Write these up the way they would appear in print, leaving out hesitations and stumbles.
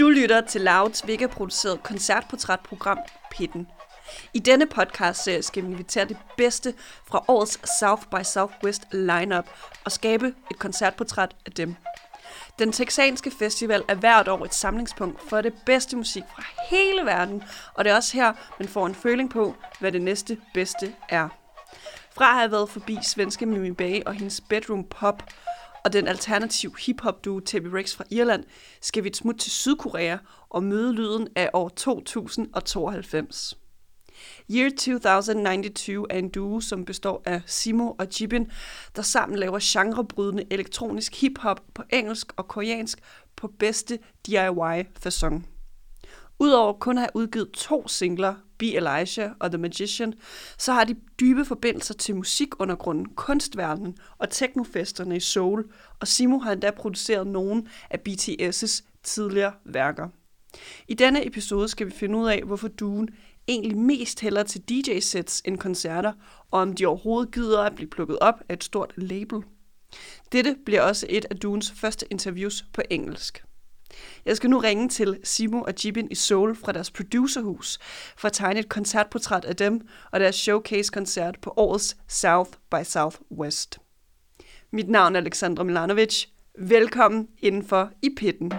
Du lytter til Louds Vega-produceret koncertportrætprogram Pitten. I denne podcast-serie skal vi invitere det bedste fra årets South by Southwest lineup og skabe et koncertportræt af dem. Den texanske festival er hvert år et samlingspunkt for det bedste musik fra hele verden, og det er også her, man får en føling på, hvad det næste bedste er. Fra at have været forbi svenske Mimi Bay og hendes bedroom pop, og den alternativ hip-hop duo Tebi Rex fra Irland, skal vi et smut til Sydkorea og møde lyden af år 2092. Year 2092 er en duo, som består af Simo og Jibin, der sammen laver genrebrydende elektronisk hip-hop på engelsk og koreansk på bedste DIY-facon. Udover kun at have udgivet 2 singler, Be Elijah og The Magician, så har de dybe forbindelser til musikundergrunden, kunstverdenen og teknofesterne i Seoul, og Simo har endda produceret nogle af BTS' tidligere værker. I denne episode skal vi finde ud af, hvorfor duoen egentlig mest hælder til DJ-sets end koncerter, og om de overhovedet gider at blive plukket op af et stort label. Dette bliver også et af duoens første interviews på engelsk. Jeg skal nu ringe til Simo og Jibin i Seoul fra deres producerhus for at tegne et koncertportræt af dem og deres showcase-koncert på årets South by Southwest. Mit navn er Alexandra Milanovic. Velkommen indenfor i Pitten.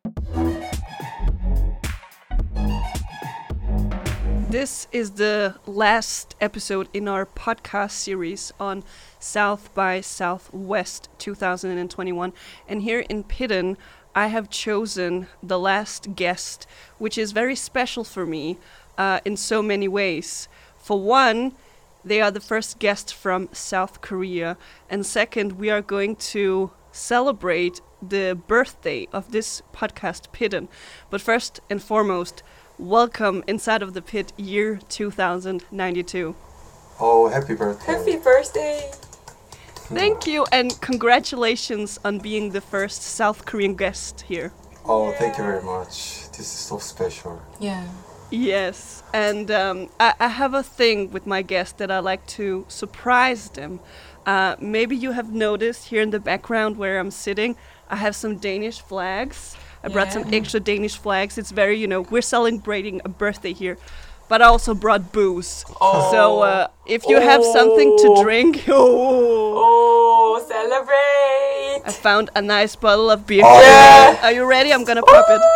This is the last episode in our podcast series on South by Southwest 2021. And here in Pitten, I have chosen the last guest, which is very special for me in so many ways. For one, they are the first guest from South Korea. And second, we are going to celebrate the birthday of this podcast, Pitten. But first and foremost, welcome inside of the pit, year 2092. Oh, happy birthday. Happy birthday. Thank you, and congratulations on being the first South Korean guest here. Oh, thank you very much. This is so special. Yeah. Yes, and I have a thing with my guests that I like to surprise them. Maybe you have noticed here in the background where I'm sitting, I have some Danish flags. I brought some extra Danish flags. It's very, we're celebrating a birthday here. But I also brought booze. Oh. So if you have something to drink... Oh, celebrate! I found a nice bottle of beer. Oh, yeah. Are you ready? I'm gonna pop it.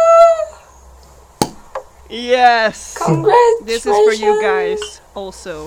Yes. Congratulations! This is for you guys also.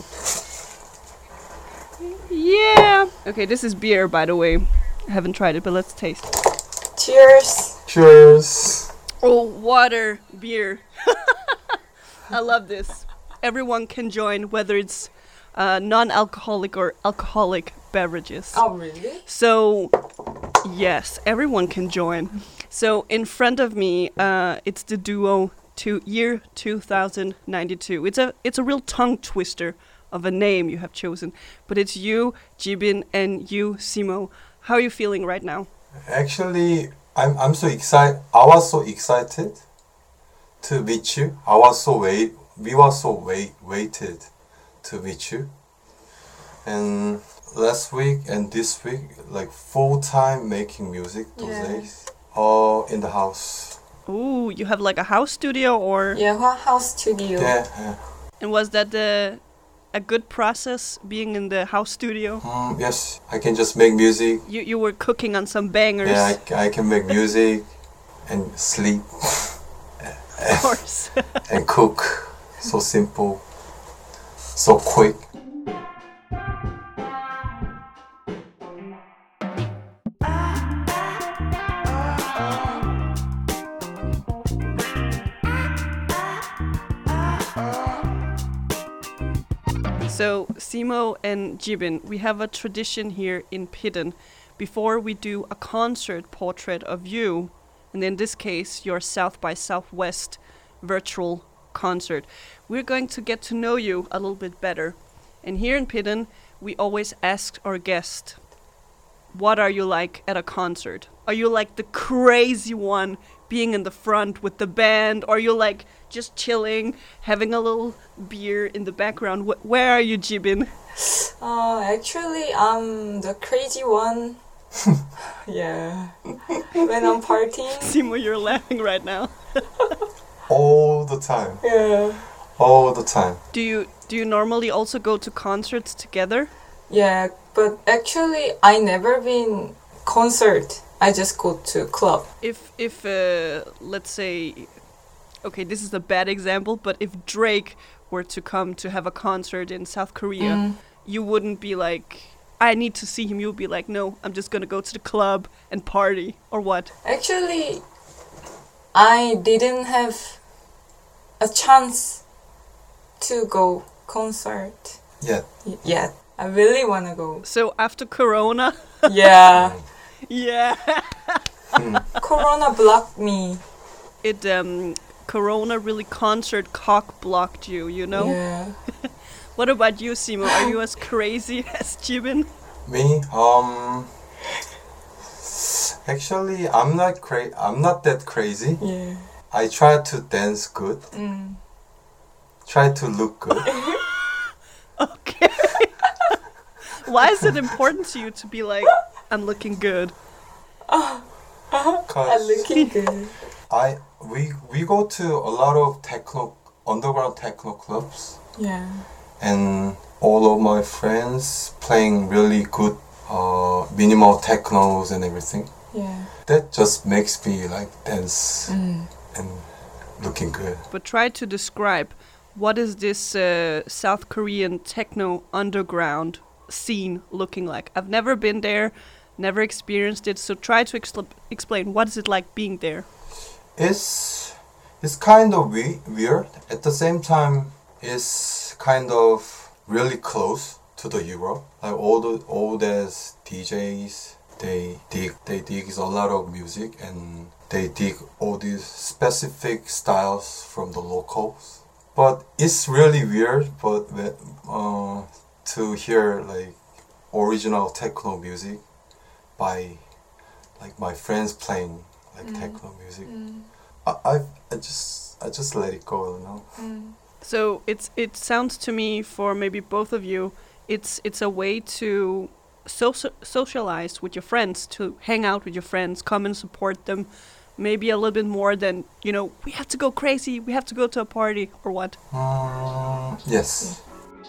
Yeah. Okay, this is beer, by the way. I haven't tried it, but let's taste. Cheers! Cheers. Oh, water, beer. I love this. Everyone can join, whether it's non-alcoholic or alcoholic beverages. Oh, really? So, yes, everyone can join. So, in front of me, it's the duo to year 2092. It's a real tongue twister of a name you have chosen, but it's you, Jibin, and you, Simo. How are you feeling right now? Actually, I'm so excited. I was so excited to meet you. We were so waited to meet you. And last week and this week, like full time making music those days. All in the house. Ooh, you have like a house studio or? Yeah, house studio. Yeah. And was that a good process being in the house studio? Yes, I can just make music. You were cooking on some bangers. Yeah, I can make music and sleep. Of course. And cook. So simple. So quick. So, Simo and Jibin, we have a tradition here in Pitten. Before we do a concert portrait of you, and in this case, your South by Southwest virtual concert, we're going to get to know you a little bit better. And here in Pitten, we always ask our guest, what are you like at a concert? Are you like the crazy one being in the front with the band? Or are you like just chilling, having a little beer in the background? Where are you, Jibin? Actually, I'm the crazy one. Yeah. When I'm partying. Simo, you're laughing right now. All the time. Yeah. All the time. Do you normally also go to concerts together? Yeah, but actually I never been concert. I just go to club. If let's say, okay, this is a bad example, but if Drake were to come to have a concert in South Korea, you wouldn't be like, I need to see him. You'd be like, no, I'm just gonna go to the club and party, or what? Actually, I didn't have a chance to go concert Yeah. yet. I really wanna go. So after Corona, Yeah. yeah, Corona blocked me. it Corona really concert cock blocked you, you know? Yeah. What about you, Simo? Are you as crazy as Jibin? Me, actually, I'm not that crazy. Yeah. I try to dance good. Try to look good. Okay. Why is it important to you to be like, I'm looking good? I'm Cause looking good. we go to a lot of underground techno clubs, Yeah. and all of my friends playing really good minimal technos and everything. Yeah. That just makes me like dance and looking good. But try to describe, what is this South Korean techno underground scene looking like? I've never been there, never experienced it, so try to explain, what is it like being there? It's kind of weird. At the same time, it's kind of really close to the Europe. Like all these DJs, they dig a lot of music, and they dig all these specific styles from the locals. But it's really weird. But to hear like original techno music by like my friends playing like techno music, I just let it go, you know. So it sounds to me, for maybe both of you, it's a way to socialize with your friends, to hang out with your friends, come and support them, maybe a little bit more than, you know, we have to go crazy, we have to go to a party, or what? Yes.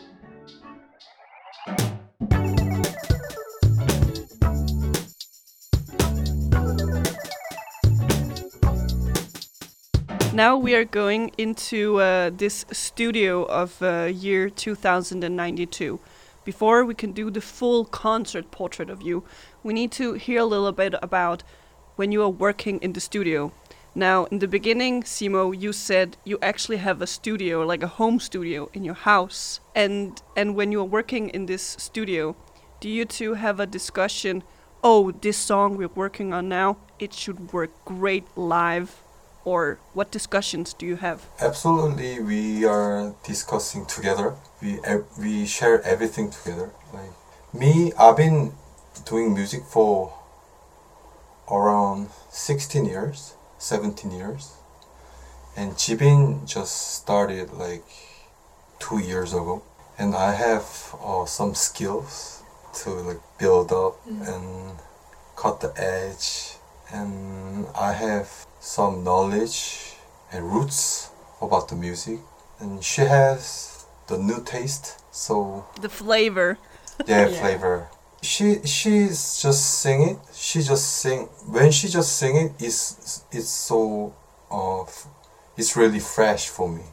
Now we are going into this studio of year 2092. Before we can do the full concert portrait of you, we need to hear a little bit about when you are working in the studio. Now, in the beginning, Simo, you said you actually have a studio, like a home studio in your house. And when you are working in this studio, do you two have a discussion, oh, this song we're working on now, it should work great live? Or what discussions do you have? Absolutely, we are discussing together. We share everything together. Like me, I've been doing music for around 16 years, 17 years. And Jibin just started like 2 years ago. And I have some skills to like build up and cut the edge. And I have some knowledge and roots about the music. And she has the new taste, so... The flavor. Yeah, flavor. She's just singing. She just sing. When she just sing it, it's so it's really fresh for me.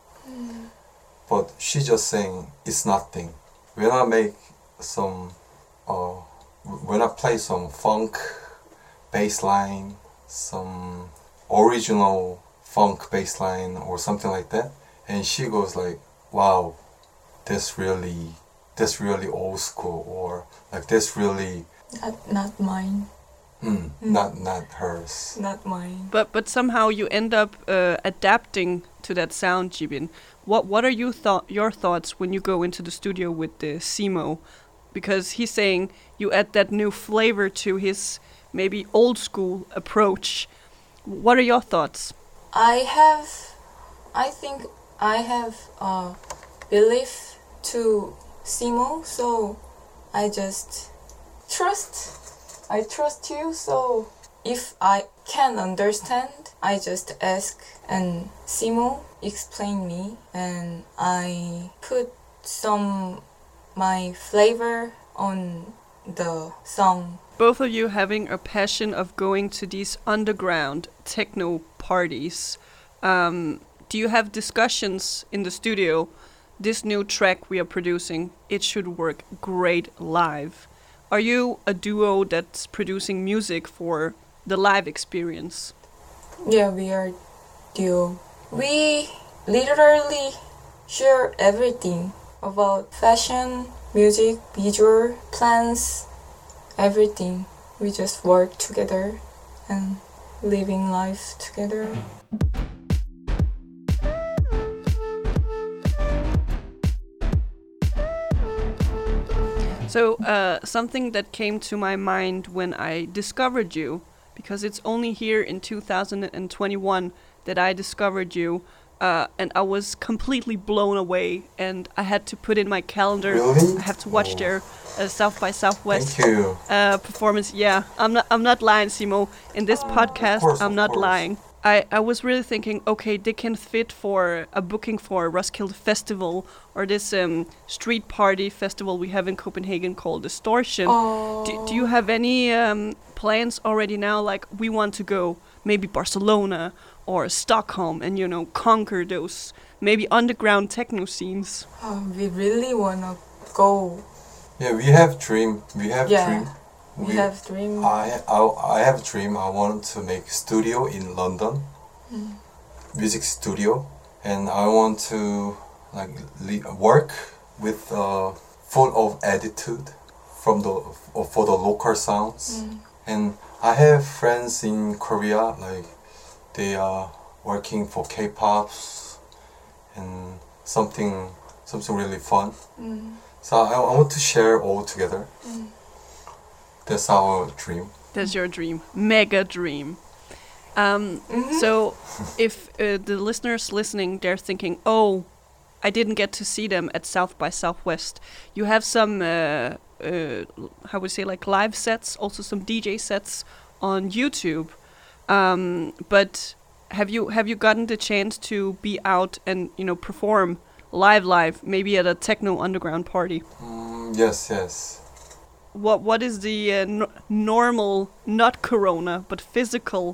But she just saying it's nothing. When I make some, when I play some funk bass line, some original funk bass line or something like that, and she goes like, "Wow, that's really old school," or like that's really Not mine. not hers. Not mine. But somehow you end up adapting to that sound, Jibin. What are your thoughts when you go into the studio with the Simo? Because he's saying you add that new flavor to his maybe old school approach. What are your thoughts? I think I have a belief to Simo, so I just trust I trust you, so if I can understand, I just ask and Simo explain me, and I put some my flavor on the song. Both of you having a passion of going to these underground techno parties. Do you have discussions in the studio? This new track we are producing, it should work great live. Are you a duo that's producing music for the live experience? Yeah, we are duo. We literally share everything about fashion, music, visual, plans, everything. We just work together and living life together. So something that came to my mind when I discovered you, because it's only here in 2021 that I discovered you, and I was completely blown away, and I had to put in my calendar. Really? I have to watch their South by Southwest Thank you. performance. Yeah, I'm not lying, Simo. In this podcast, course, I'm of not course. lying. I was really thinking, okay, they can fit for a booking for Roskilde Festival or this street party festival we have in Copenhagen called Distortion. Do you have any plans already now? Like, we want to go maybe Barcelona or Stockholm and, conquer those maybe underground techno scenes. We really wanna go. Yeah, we have dream. We have Yeah. dream. We have dream. I have a dream. I want to make studio in London, music studio, and I want to work with full of attitude from for the local sounds. And I have friends in Korea, like they are working for K-pops and something really fun. So I want to share all together. That's our dream. That's your dream. Mega dream. So if the listeners listening, they're thinking, oh, I didn't get to see them at South by Southwest. You have some, how would you say, like live sets, also some DJ sets on YouTube. But have you gotten the chance to be out and, perform live, maybe at a techno underground party? Yes. What is the normal, not Corona, but physical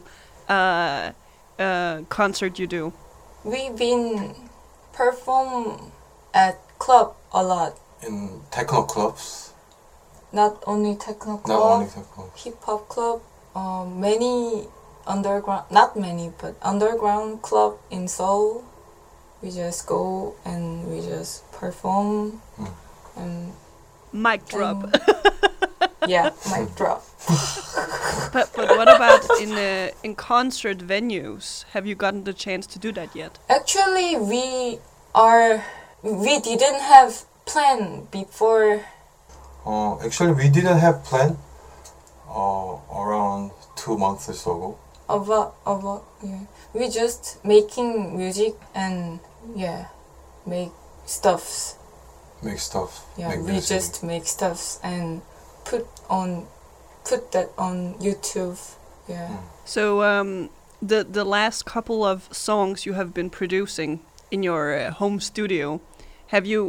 concert you do? We've been perform at club a lot. In techno clubs. Not only techno club, Not only techno clubs. hip hop club, many underground, not many, but underground club in Seoul. We just go and we just perform and Mic drop. yeah, mic drop. But what about in concert venues? Have you gotten the chance to do that yet? Actually, we didn't have plan before. Actually, we didn't have plan around 2 months ago. About yeah. We just making music and make stuffs. Make stuff. Yeah, make we music. just make stuffs and put that on YouTube. Yeah. So the last couple of songs you have been producing in your home studio, have you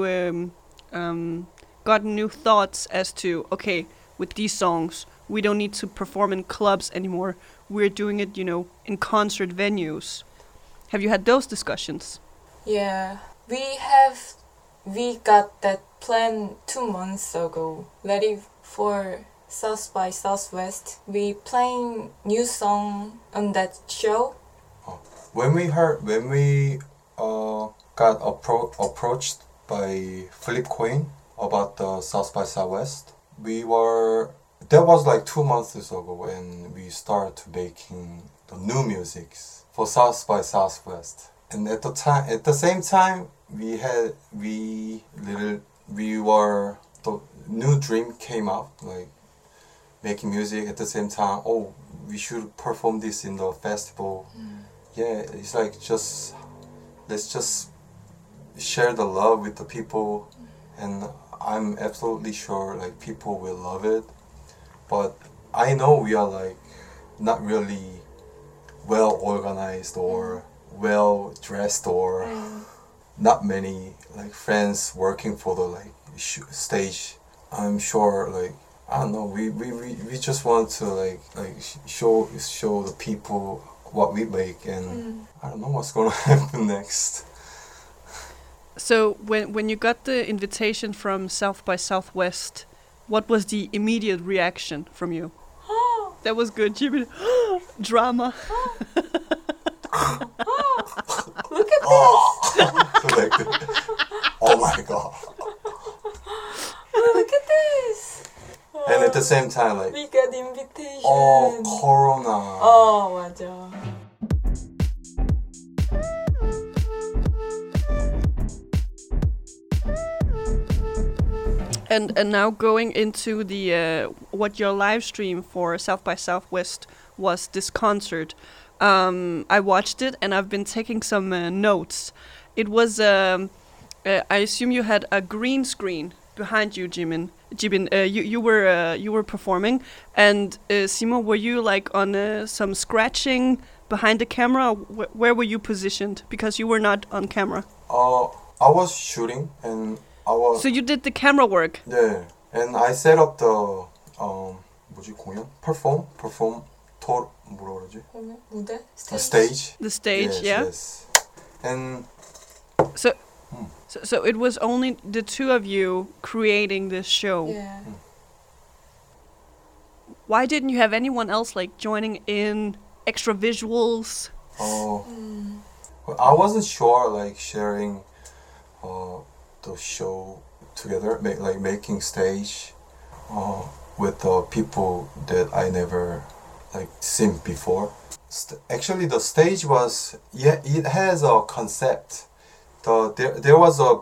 gotten new thoughts as to, okay, with these songs we don't need to perform in clubs anymore, we're doing it in concert venues? Have you had those discussions? Yeah, we got that plan 2 months ago. Ready for South by Southwest. We playing new song on that show. When we got approached by Flip Queen about the South by Southwest, that was like 2 months ago when we started making the new musics for South by Southwest. And at the same time, the new dream came up, like making music at the same time. Oh, we should perform this in the festival. Yeah, it's like let's just share the love with the people, and I'm absolutely sure like people will love it. but I know we are like not really well organized or well dressed or not many like friends working for the like stage. I'm sure like I don't know. We just want to like show the people what we make, and I don't know what's gonna happen next. So when you got the invitation from South by Southwest, what was the immediate reaction from you? That was good, Jimmy. Drama. Look at this! Oh my god! Look at this! And at the same time, like, we got invitation. oh, Corona. 맞아. And now going into the what your live stream for South by Southwest was, this concert. I watched it and I've been taking some notes. It was I assume you had a green screen behind you, Jimin. You were performing, and Simo, were you like on some scratching behind the camera? Where were you positioned? Because you were not on camera. I was shooting and I was. So you did the camera work. Yeah, and I set up the 뭐지 공연? Perform 토 뭐라 그러지? 무대? The stage. The stage, yes, yeah. Yes. And so it was only the two of you creating this show. Yeah. Why didn't you have anyone else like joining in, extra visuals? Well, I wasn't sure like sharing the show together, making stage with people that I never like seen before. Actually, the stage was it has a concept. There was a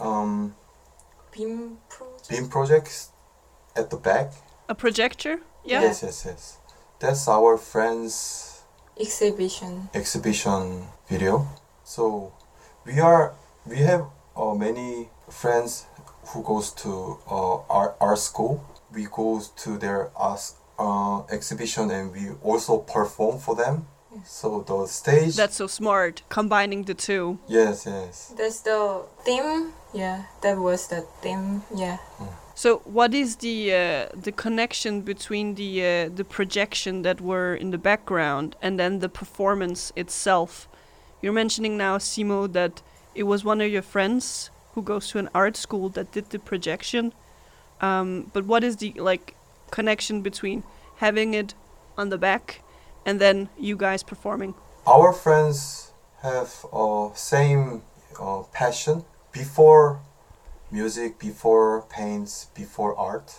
beam project at the back. A projector? Yeah. Yes. That's our friends' exhibition video. So we have many friends who goes to art school. We go to their exhibition and we also perform for them. So the stage. That's so smart, combining the two. Yes. That's the theme. Yeah, that was the theme. Yeah. So what is the connection between the projection that were in the background and then the performance itself? You're mentioning now, Simo, that it was one of your friends who goes to an art school that did the projection. But what is the like connection between having it on the back and then you guys performing? Our friends have same passion before music, before paints, before art.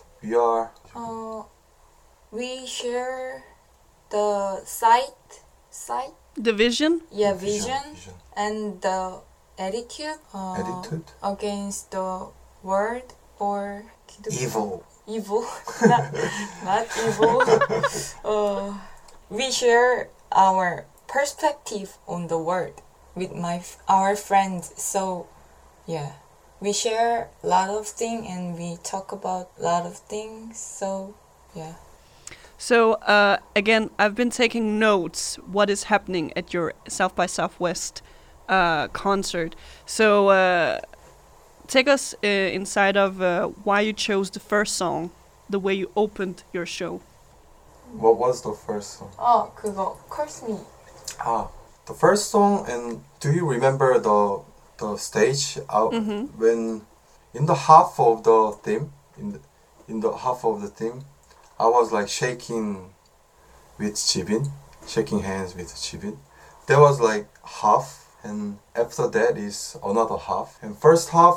We share the sight. The vision? Yeah, vision. And the attitude. Attitude against the world or evil. Not evil. We share our perspective on the world with our friends. So, yeah, we share a lot of things and we talk about a lot of things. So, yeah. So, again, I've been taking notes what is happening at your South by Southwest concert. So, take us inside of why you chose the first song, the way you opened your show. What was the first song? 그거 Curse Me. The first song, and do you remember the stage when in the half of the theme, in the half of the theme, I was like shaking with Jibin, shaking hands with Jibin. There was like half, and after that is another half. And first half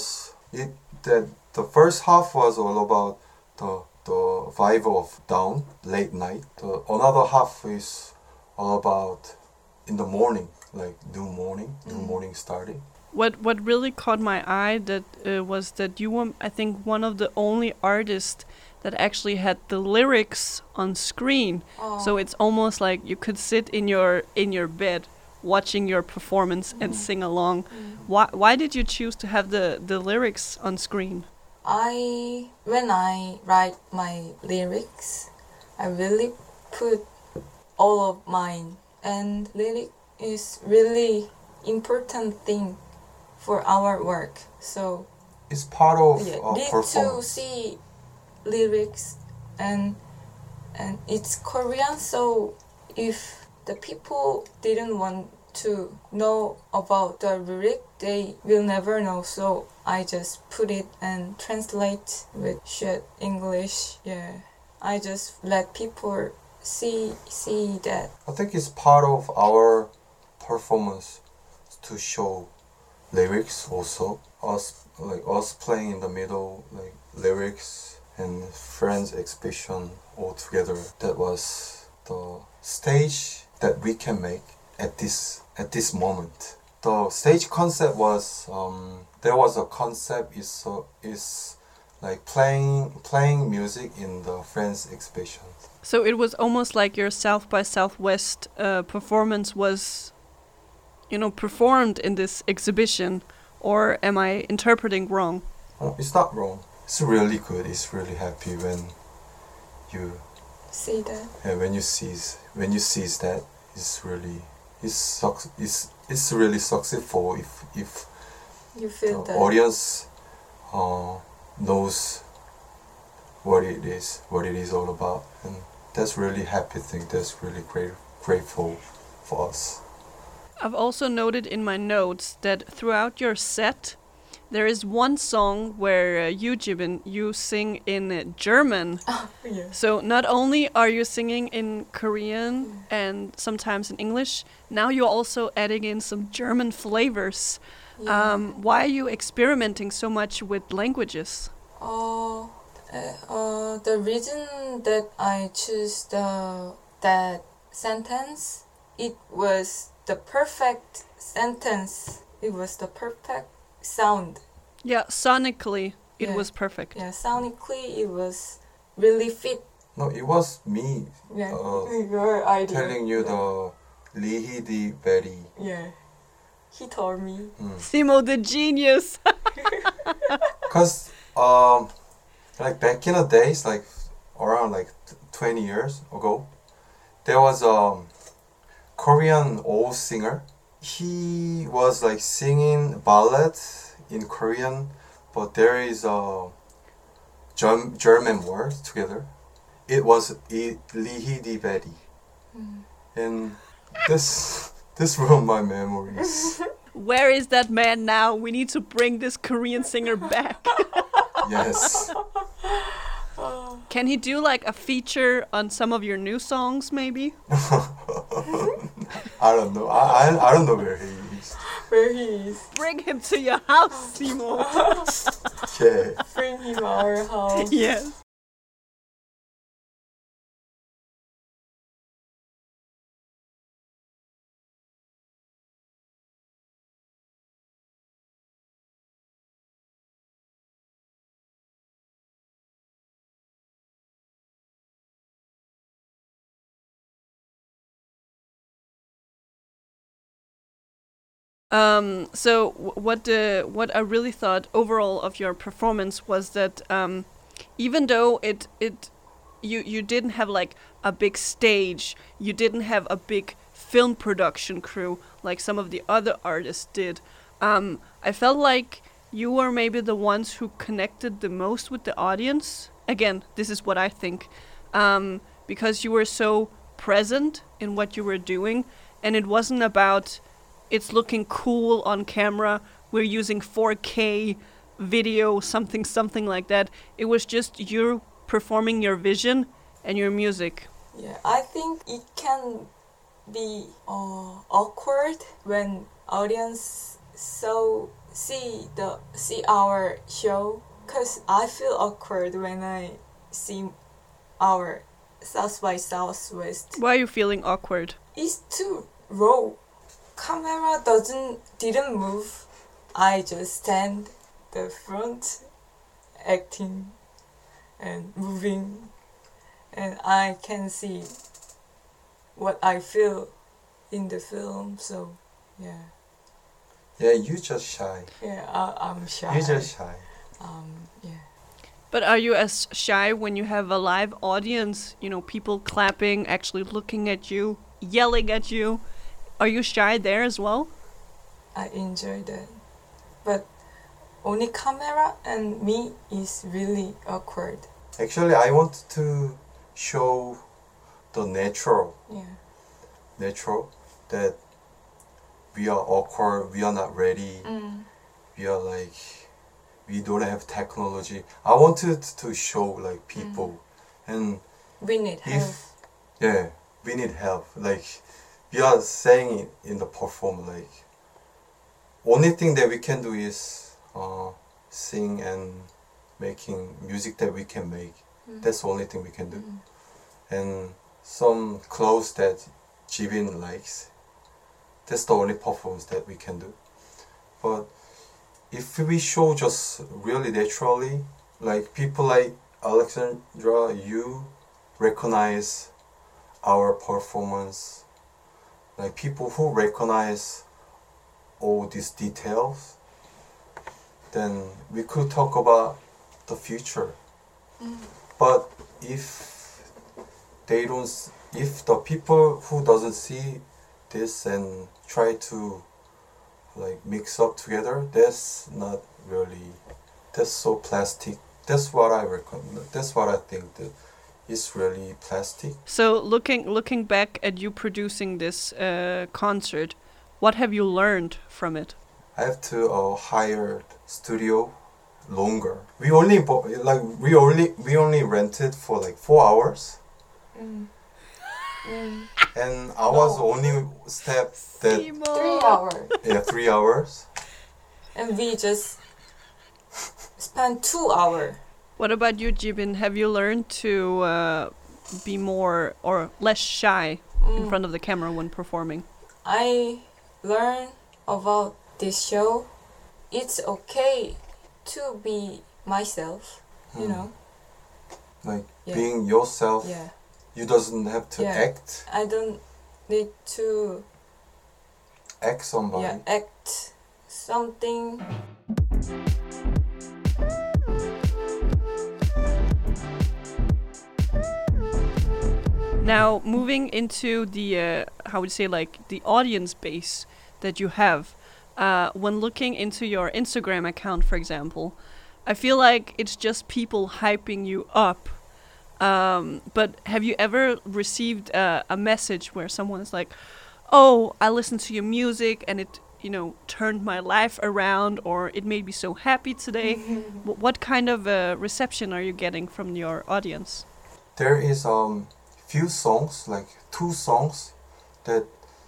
the first half was all about the vibe of down, late night. The another half is all about in the morning, like new morning starting. What really caught my eye was that you were, I think, one of the only artists that actually had the lyrics on screen. So it's almost like you could sit in your bed watching your performance and sing along. Why did you choose to have the lyrics on screen? when I write my lyrics, I really put all of mine, and lyric is really important thing for our work. So It's part of need to performance. see lyrics, and it's Korean. So if the people didn't want to know about the lyric, they will never know. So I just put it and translate with shit English. Yeah, I just let people see that. I think it's part of our performance to show lyrics also. Us playing in the middle, like lyrics and friends expression all together. That was the stage that we can make at this moment. The stage concept was there was a concept is like playing music in the friends expression. So it was almost like your South by Southwest performance was, performed in this exhibition, or am I interpreting wrong? It's not wrong. It's really good. It's really happy when you See that? when you sees that. It's really it's really successful if You feel the that? audience knows what it is all about, and that's really happy thing. That's really grateful for us. I've also noted in my notes that throughout your set, there is one song where you, Jimin, you sing in German. Yeah. So not only are you singing in Korean and sometimes in English, now you're also adding in some German flavors. Why are you experimenting so much with languages? The reason that I choose that sentence, it was the perfect sentence. It was the perfect sound. Yeah, sonically, it Yeah. was perfect. Yeah, sonically it was really fit. No, it was me Yeah, Uh, your idea. telling you the Lihidi Berry. Yeah, he told me. Simo the genius. Cause like back in the days, like around like 20 years ago, there was a Korean old singer. He was like singing ballad in Korean, but there is a German word together. It was Lihidi Betty, and this ruined my memories. Where is that man now? We need to bring this Korean singer back. Yes. Can he do like a feature on some of your new songs, maybe? I don't know. I don't know where he is. Where he is. Bring him to your house, Simo. Yeah. Bring him our house. Yes. So what I really thought overall of your performance was that even though you didn't have like a big stage, you didn't have a big film production crew like some of the other artists did. I felt like you were maybe the ones who connected the most with the audience. Again, this is what I think, because you were so present in what you were doing, and it wasn't about it's looking cool on camera, we're using 4K video, something like that. It was just you performing your vision and your music. Yeah, I think it can be awkward when audience see our show, cause I feel awkward when I see our South by Southwest. Why are you feeling awkward? It's too raw. Camera didn't move. I just stand the front, acting and moving, and I can see what I feel in the film. So yeah. Yeah, you just shy. Yeah, I'm shy. You just shy. Yeah. But are you as shy when you have a live audience? You know, people clapping, actually looking at you, yelling at you. Are you shy there as well? I enjoy that. But only camera and me is really awkward. Actually, I want to show the natural that we are awkward, we are not ready, we are like, we don't have technology. I wanted to show like people and We need help. yeah, we need help. Like we are saying it in the perform, like only thing that we can do is sing and making music that we can make. That's the only thing we can do. And some clothes that Jibin likes. That's the only performance that we can do. But if we show just really naturally, like people like Alexandra, you recognize our performance, like people who recognize all these details, then we could talk about the future. But if they don't, if the people who doesn't see this and try to like mix up together, that's not really, that's so plastic. That's what I reckon. That's what I think that is really plastic. So looking back at you producing this concert, what have you learned from it? I have to hire studio longer. We only we only rented for like 4 hours. And I was the only step that 3 hours. 3 hours. And we just spent 2 hours. What about you, Jibin? Have you learned to be more or less shy in front of the camera when performing? I learned about this show. It's okay to be myself, you know. Like being yourself. Yeah. You doesn't have to act. I don't need to Act somebody. act something. Now, moving into the how would you say, like the audience base that you have, when looking into your Instagram account, for example, I feel like it's just people hyping you up. But have you ever received a message where someone is like, "Oh, I listened to your music and it, you know, turned my life around, or it made me so happy today"? What kind of reception are you getting from your audience? There is few songs, like 2 songs that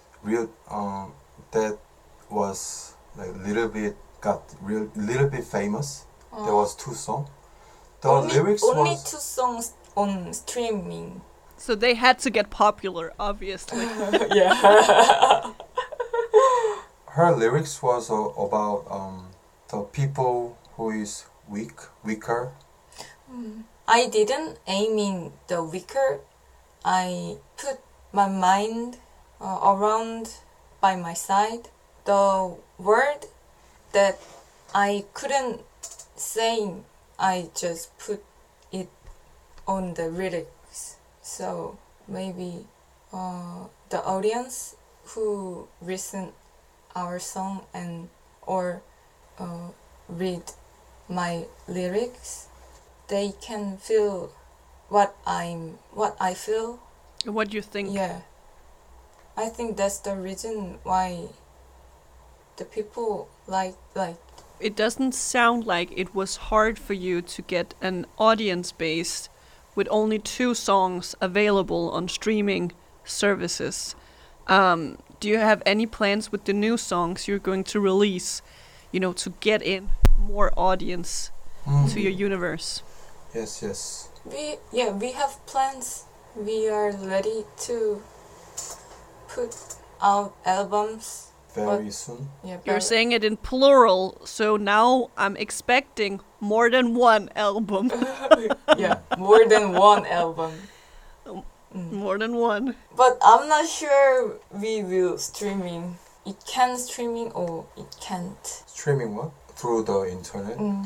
that was like little bit famous. There was 2 songs. The lyrics only was 2 songs on streaming. So they had to get popular, obviously. Yeah. her lyrics was about the people who is weaker. I didn't aim in the weaker. I put my mind around by my side. The word that I couldn't say, I just put it on the lyrics. So maybe the audience who listen our song and or read my lyrics, they can feel what I feel. What you think? Yeah. I think that's the reason why the people like. It doesn't sound like it was hard for you to get an audience base with only 2 songs available on streaming services. Do you have any plans with the new songs you're going to release, you know, to get in more audience to your universe? Yes. We have plans. We are ready to put out albums Very soon. Yeah, You're saying it in plural, so now I'm expecting more than 1 album. yeah, more than 1 album. More than 1. But I'm not sure we will streaming. It can streaming or it can't. Streaming what? Through the internet?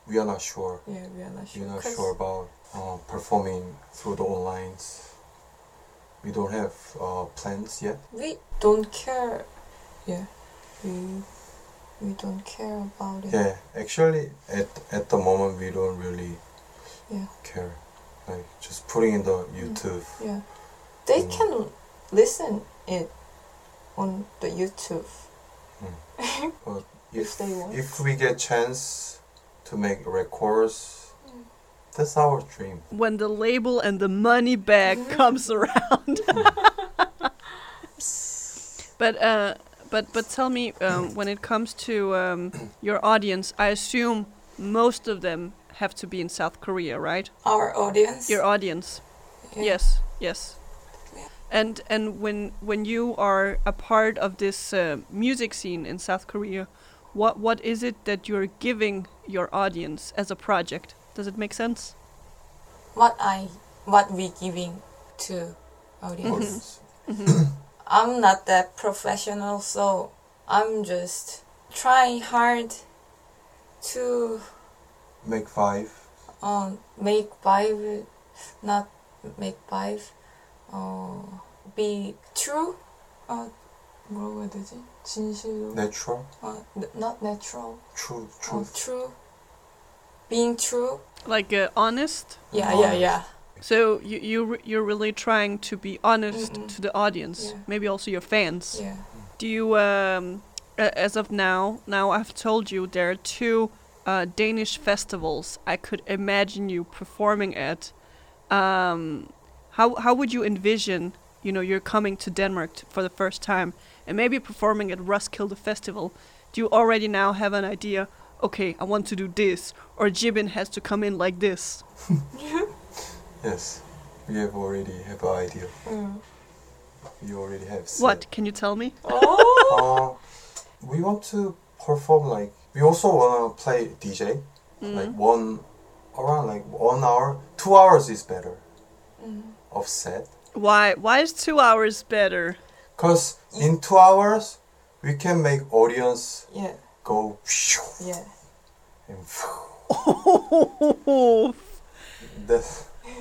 we are not sure. Yeah, we are not sure. We're not 'Cause- sure about performing through the online. We don't have plans yet. We don't care. Yeah, we don't care about it. Yeah, actually, at the moment, we don't really Yeah. care. Like just putting in the YouTube. Yeah, they Mm. can listen it on the YouTube. But If they want. if we get chance to make records, Mm. that's our dream. When the label and the money bag comes around. But tell me, when it comes to your audience, I assume most of them have to be in South Korea, right? Our audience. Your audience. Yeah. Yes, yes. Yeah. And when you are a part of this music scene in South Korea, what is it that you're giving your audience as a project? Does it make sense? What we giving to audience. Audience. I'm not that professional, so I'm just trying hard to Make 5. make vibe, not make vibe. Be true. 뭐라고 해야 되지? 진실로. Natural. Not natural. True. Truth. True. Being true. Like honest? Yeah. So you're really trying to be honest Mm-mm. to the audience, Yeah. maybe also your fans. Yeah. Do you, as of now I've told you there are 2 Danish festivals I could imagine you performing at. How would you envision, you're coming to Denmark for the first time and maybe performing at Roskilde Festival? Do you already now have an idea? Okay, I want to do this, or Jibbin has to come in like this. Yes, we already have an idea. Mm. We already have. Said. What? Can you tell me? Oh. We want to perform like. We also wanna play DJ. Like around 1 hour. 2 hours is better. Of set. Why is 2 hours better? Cause in 2 hours we can make audience Yeah. go. Yeah. And that's.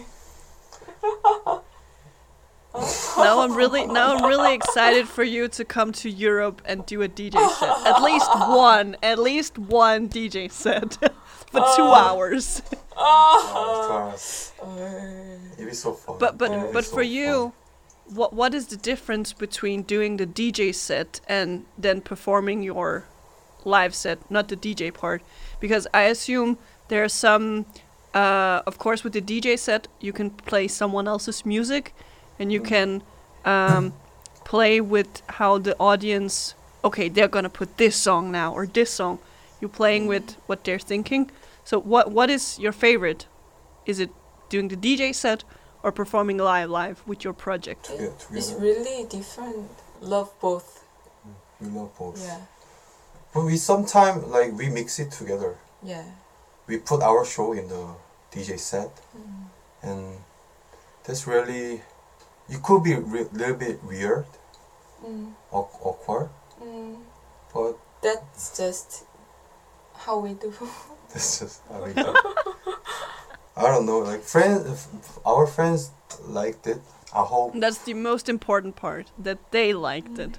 Now I'm really excited for you to come to Europe and do a DJ set. At least one DJ set for 2 hours. 2 hours. It'd be so fun. But It'd be but so for you, fun. what is the difference between doing the DJ set and then performing your live set, not the DJ part? Because I assume there are some, of course, with the DJ set you can play someone else's music, and you can play with how the audience. Okay, they're gonna put this song now or this song. You're playing with what they're thinking. So what is your favorite? Is it doing the DJ set or performing live with your project? Together. It's really different. Love both. We love both. Yeah. But we sometimes we mix it together. Yeah. We put our show in the DJ set, and that's really. It could be little bit weird, awkward, but That's just how we do. that's just how we do. I don't know, our friends liked it. I hope. That's the most important part, that they liked it.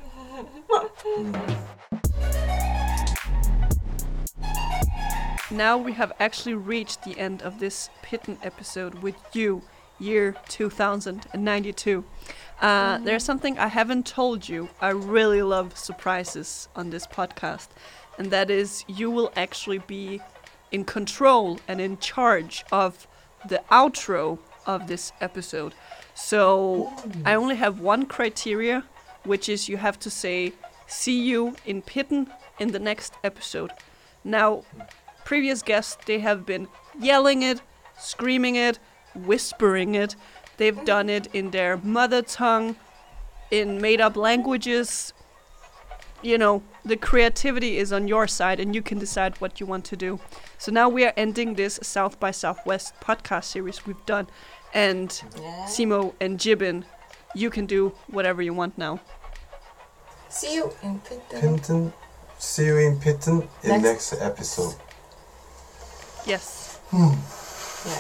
Now we have actually reached the end of this Pitten episode with you, year 2092. There's something I haven't told you. I really love surprises on this podcast, and that is you will actually be in control and in charge of the outro of this episode. So I only have one criteria, which is you have to say, see you in Pitten in the next episode. Now, previous guests, they have been yelling it, screaming it, whispering it. They've done it in their mother tongue, in made-up languages. You know, the creativity is on your side and you can decide what you want to do. So now we are ending this South by Southwest podcast series we've done. And Simo and Jibbin, you can do whatever you want now. See you in Pitten. See you in Pitten in next episode. Yes. Yeah.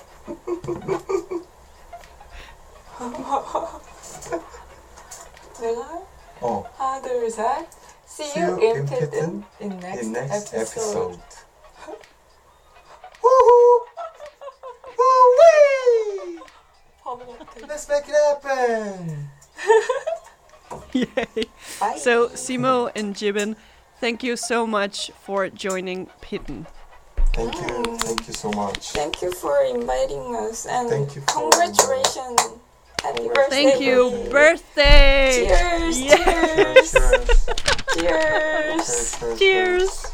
내가 어. 하나 둘 셋. See you in Pitten in next episode. Woohoo! Woo-wee! 바보 같아. Let's make it happen! Yay. Bye. So, Simo and Jiben, thank you so much for joining Pitten. Thank you so much. Thank you for inviting us and Thank you for- congratulations. Happy birthday. Thank you. Birthday. Birthday! Cheers. Yeah. Cheers. Cheers. Cheers. Cheers. Cheers!